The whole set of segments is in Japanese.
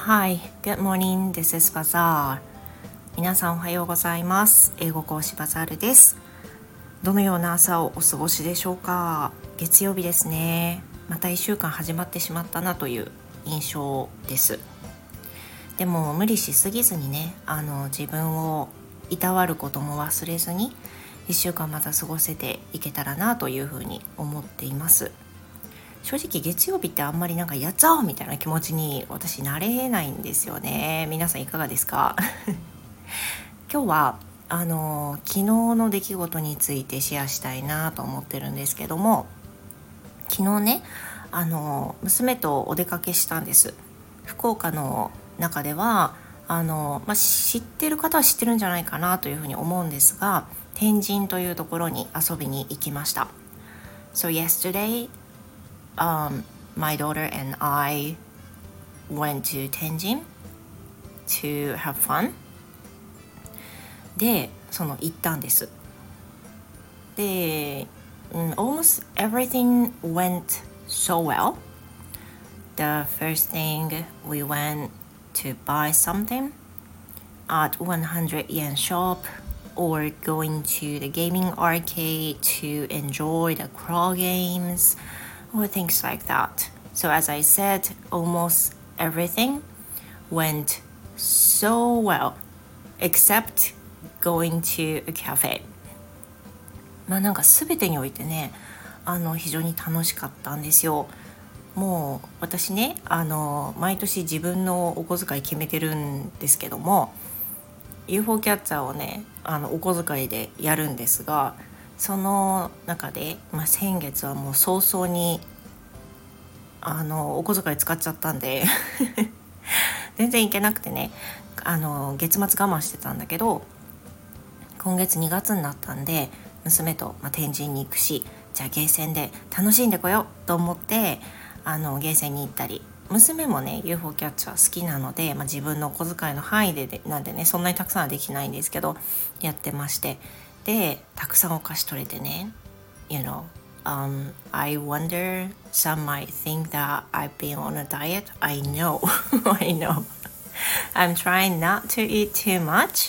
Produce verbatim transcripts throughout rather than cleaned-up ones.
Hi, good morning. This is Bazaar. 皆さんおはようございます。英語講師バザールです。どのような朝をお過ごしでしょうか。月曜日ですね。またいっしゅうかん始まってしまったなという印象です。でも無理しすぎずにね、あの自分をいたわることも忘れずにいっしゅうかんまた過ごせていけたらなというふうに思っています。正直月曜日ってあんまりなんかやっちゃおうみたいな気持ちに私なれないんですよね。皆さんいかがですか？今日はあの昨日の出来事についてシェアしたいなと思ってるんですけども、昨日ねあの娘とお出かけしたんです。福岡の中ではあの、まあ、知ってる方は知ってるんじゃないかなというふうに思うんですが、天神というところに遊びに行きました。 So yesterday、um, my daughter and I went to Tenjin to have fun. でその行ったんです。で、um, almost everything went so well. The first thing, we went to buy something at one hundred yen shop or going to the gaming arcade to enjoy the crawl games or things like that. So as I said, almost everything went so well except going to a cafe. まあなんか全てにおいてね、あの非常に楽しかったんですよ。もう私ね、あの毎年自分のお小遣い決めてるんですけども、 ユーフォー キャッチャーをねあのお小遣いでやるんですが、その中で、まあ、先月はもう早々にあのお小遣い使っちゃったんで全然行けなくてね、あの月末我慢してたんだけど、今月にがつになったんで娘と、まあ、天神に行くし、じゃあゲーセンで楽しんでこようと思ってあのゲーセンに行ったり、娘もね ユーフォー キャッチャー好きなので、まあ、自分のお小遣いの範囲ででなんでね、そんなにたくさんはできないんですけどやってまして、でたくさんお菓子取れてね、 You know、um, I wonder some might think that I've been on a diet. I know I know I'm trying not to eat too much,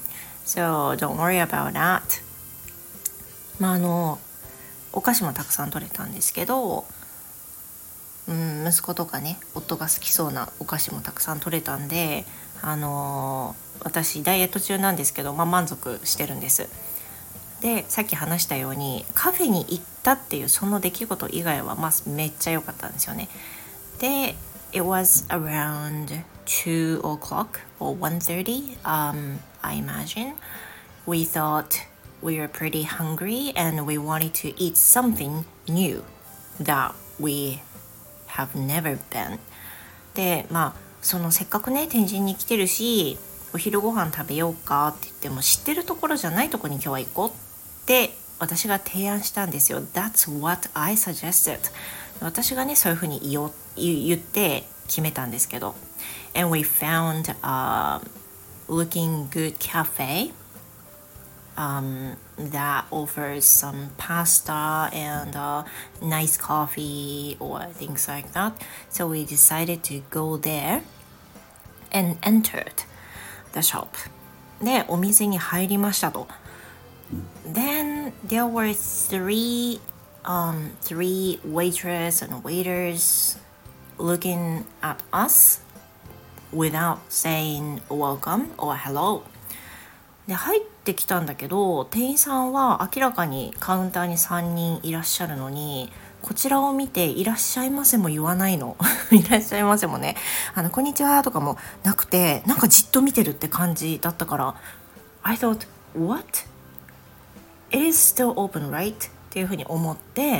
so don't worry about that. まああのお菓子もたくさん取れたんですけど、うん、息子とかね夫が好きそうなお菓子もたくさん取れたんで、あのー、私ダイエット中なんですけど、まあ、満足してるんです。でさっき話したようにカフェに行ったっていうその出来事以外は、まあ、めっちゃ良かったんですよね。で It was around two o'clock or one thirty、um, I imagine. We thought we were pretty hungry and we wanted to eat something new that we have never been. でまあそのせっかくね天神に来てるし、お昼ご飯食べようかって言っても知ってるところじゃないところに今日は行こうって私が提案したんですよ。 That's what I suggested. 私がねそういうふうに言おう言って決めたんですけど、 And we found a looking good cafe、um, that offers some pasta and uh, nice coffee or things like that. So we decided to go there and entered the shop. で、お店に入りましたと。Then there were three, um, three waitress and waiters looking at us without saying welcome or hello.で入ってきたんだけど、店員さんは明らかにカウンターにさんにんいらっしゃるのに、こちらを見ていらっしゃいませも言わないのいらっしゃいませもね、あのこんにちはとかもなくて、なんかじっと見てるって感じだったから、 I thought what? It is still open, right? っていうふうに思って、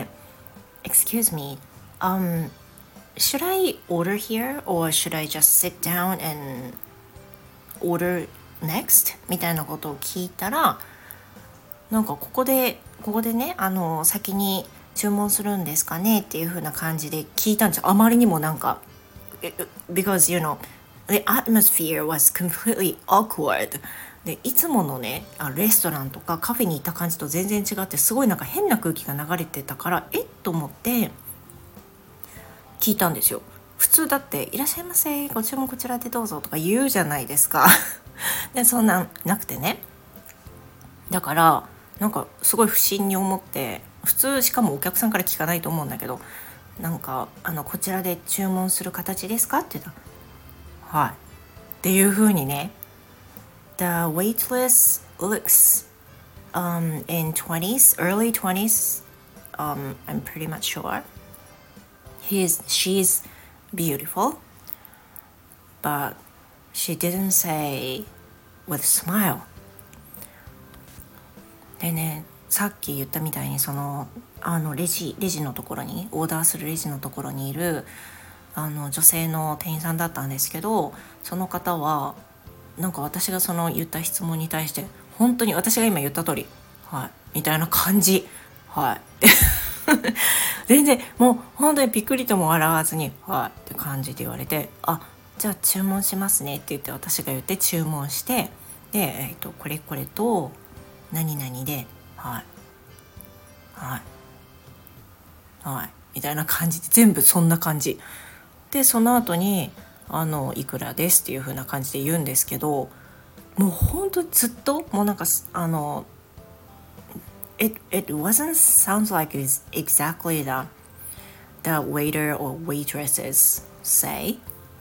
Excuse me, um, should I order here or should I just sit down and order next? みたいなことを聞いたら、なんかここでここでねあの先に注文するんですかねっていう風な感じで聞いたんですよ。あまりにもなんか because you know the atmosphere was completely awkward で、いつものねレストランとかカフェに行った感じと全然違って、すごいなんか変な空気が流れてたから、えっと思って聞いたんですよ。 普通だっていらっしゃいませご注文こちらでどうぞとか言うじゃないですかでそんなんなくてね、だからなんかすごい不審に思って、普通しかもお客さんから聞かないと思うんだけど、なんかあのこちらで注文する形ですかって言ったら、はいっていう風にね。 The waitress looks um in twenties, early twenties, um I'm pretty much sure. He's she's beautiful, but she didn't say with smile. でね、さっき言ったみたいにそのあのレジレジのところにオーダーするレジのところにいるあの女性の店員さんだったんですけど、その方はなんか私がその言った質問に対して本当に私が今言った通りはいみたいな感じ、はい全然もう本当にびっくりとも笑わずにはいって感じで言われて、あじゃあ注文しますねって言って私が言って注文して、で、えー、とこれこれと何々ではいはいはいみたいな感じで全部そんな感じで、その後にあのいくらですっていう風な感じで言うんですけど、もう本当ずっともうなんかあの it it wasn't sounds like it's exactly the the waiter or waitresses say.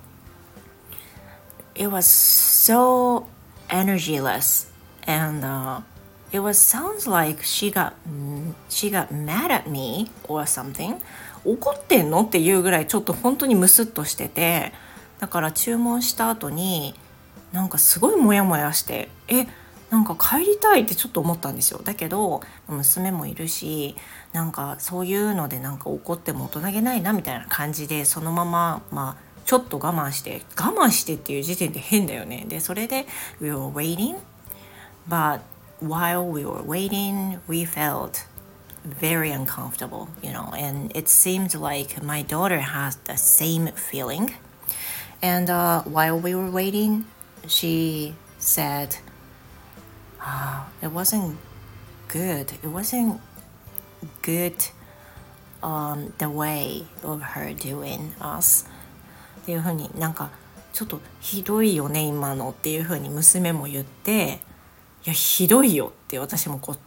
It was so energyless, and uh, it was sounds like she got she got mad at me or something. 怒ってんのっていうぐらいちょっと本当にムスッとしてて、だから注文した後になんかすごいモヤモヤして、えなんか帰りたいってちょっと思ったんですよ。だけど娘もいるし、なんかそういうのでなんか怒っても大人げないなみたいな感じで、そのまままあちょっと我慢して我慢してっていう時点で変だよね。でそれで we were waiting, but while we were waiting we felt very uncomfortable, you know, and it seemed like my daughter has the same feeling. And uh, while we were waiting, she said, oh, it wasn't good. It wasn't good um, the way of her doing us. っていう風になんかちょっとひどいよね今のっていう風に娘も言って、いやひどいよって私もこう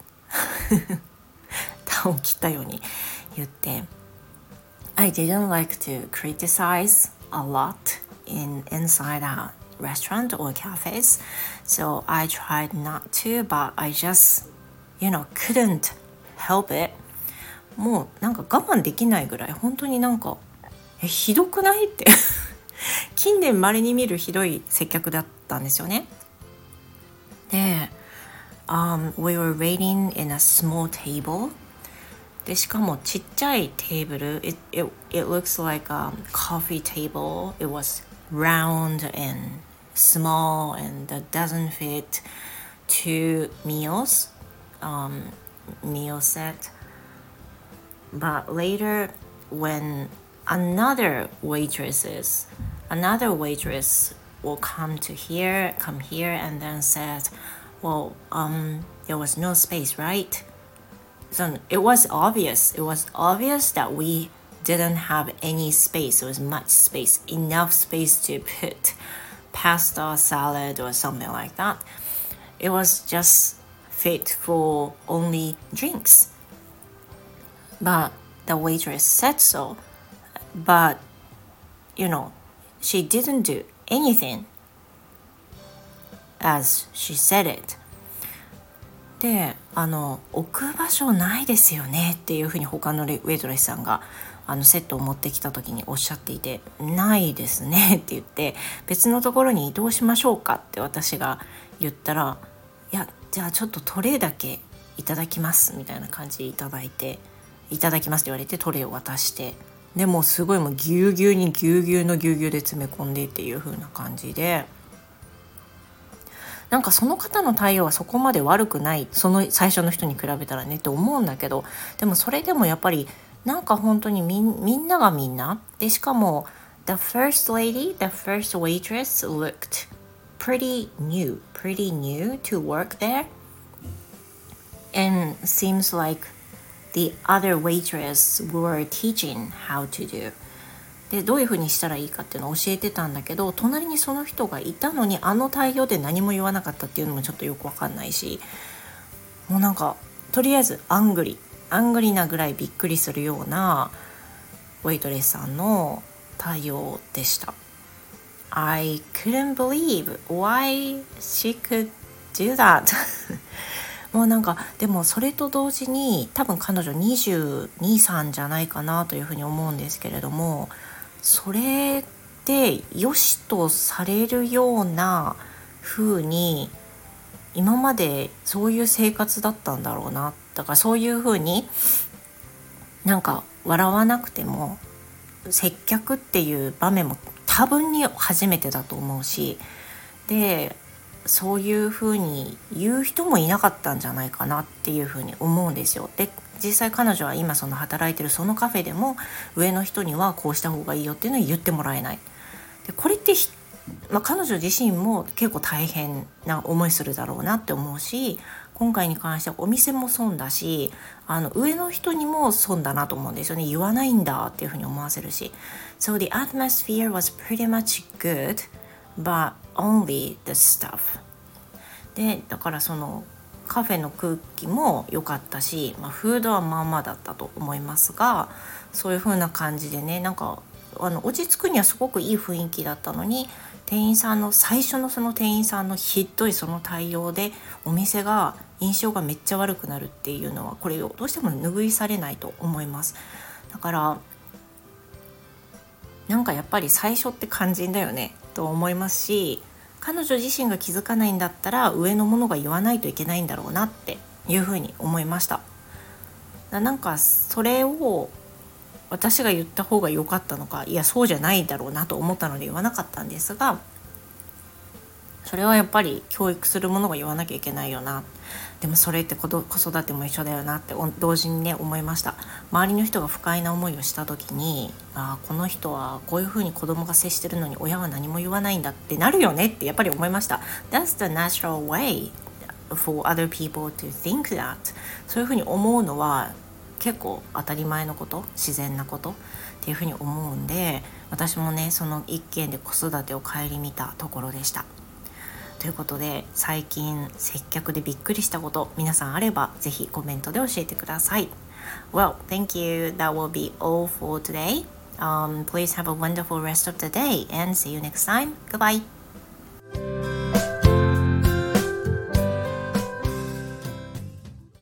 タを切ったように言って、 I didn't like to criticize a lot in inside a restaurant or cafes, so I tried not to, but I just you know couldn't help it. もうなんか我慢できないぐらい本当になんかえひどくないって近年稀に見るひどい接客だったんですよね。で、um, we were waiting in a small table. でしかもちっちゃいテーブル it, it, it looks like a coffee table. It was round and small and that doesn't fit two meals, um, meal set. But later when another waitresses another waitress will come to here come here and then said, well um there was no space, right? So it was obvious it was obvious that we didn't have any space. There was much space, enough space to put pasta, salad or something like that. It was just fit for only drinks, but the waitress said so. But you know she didn't do anything as she said it. で、あの置く場所ないですよねっていうふうに他のウェイトレスさんがあのセットを持ってきた時におっしゃっていて、ないですねって言って、別のところに移動しましょうかって私が言ったら、いやじゃあちょっとトレーだけいただきますみたいな感じでいただいて、いただきますって言われてトレーを渡して、でもすごいもうぎゅうぎゅうにぎゅうぎゅうのぎゅうぎゅうで詰め込んでっていう風な感じで、なんかその方の対応はそこまで悪くない、その最初の人に比べたらねって思うんだけど、でもそれでもやっぱりなんか本当にみん、みんながみんなで、しかも the first lady, the first waitress looked pretty new, pretty new to work there, and seems like the other waitress were teaching how to do. でどういうふうにしたらいいかっていうのを教えてたんだけど、隣にその人がいたのにあの対応で何も言わなかったっていうのもちょっとよくわかんないし、もうなんかとりあえずアングリアングリなぐらいびっくりするようなウェイトレスさんの対応でした。 I couldn't believe why she could do that もうなんかでもそれと同時に多分彼女にじゅうに、さんじゃないかなというふうに思うんですけれども、それで良しとされるような風に今までそういう生活だったんだろうな。だからそういう風になんか笑わなくても接客っていう場面も多分に初めてだと思うし、でそういう風に言う人もいなかったんじゃないかなっていう風に思うんですよ。で実際彼女は今その働いてるそのカフェでも上の人にはこうした方がいいよっていうのを言ってもらえない。でこれってまあ、彼女自身も結構大変な思いするだろうなって思うし、今回に関してはお店も損だし、あの上の人にも損だなと思うんですよね。言わないんだっていうふうに思わせるし。So the atmosphere was pretty much good, but only the stuff. でだからそのカフェの空気も良かったし、まあ、フードはまあまあだったと思いますが、そういう風な感じでね、なんかあの落ち着くにはすごくいい雰囲気だったのに、店員さんの最初のその店員さんのひどいその対応でお店が印象がめっちゃ悪くなるっていうのは、これをどうしても拭いされないと思います。だからなんかやっぱり最初って肝心だよねと思いますし、彼女自身が気づかないんだったら上の者が言わないといけないんだろうなっていうふうに思いました。なんかそれを私が言った方が良かったのか、いやそうじゃないだろうなと思ったので言わなかったんですが、それはやっぱり教育するものが言わなきゃいけないよな。でもそれって子育ても一緒だよなって同時にね思いました。周りの人が不快な思いをした時に、あこの人はこういうふうに子供が接してるのに親は何も言わないんだってなるよねってやっぱり思いました。 That's the natural way for other people to think that。 そういうふうに思うのは結構当たり前のこと、自然なことっていうふうに思うんで、私もねその一件で子育てを顧みたところでした。ということで、最近接客でびっくりしたこと皆さんあればぜひコメントで教えてください。 Well, thank you. That will be all for today. Um, please have a wonderful rest of the day and see you next time. Goodbye.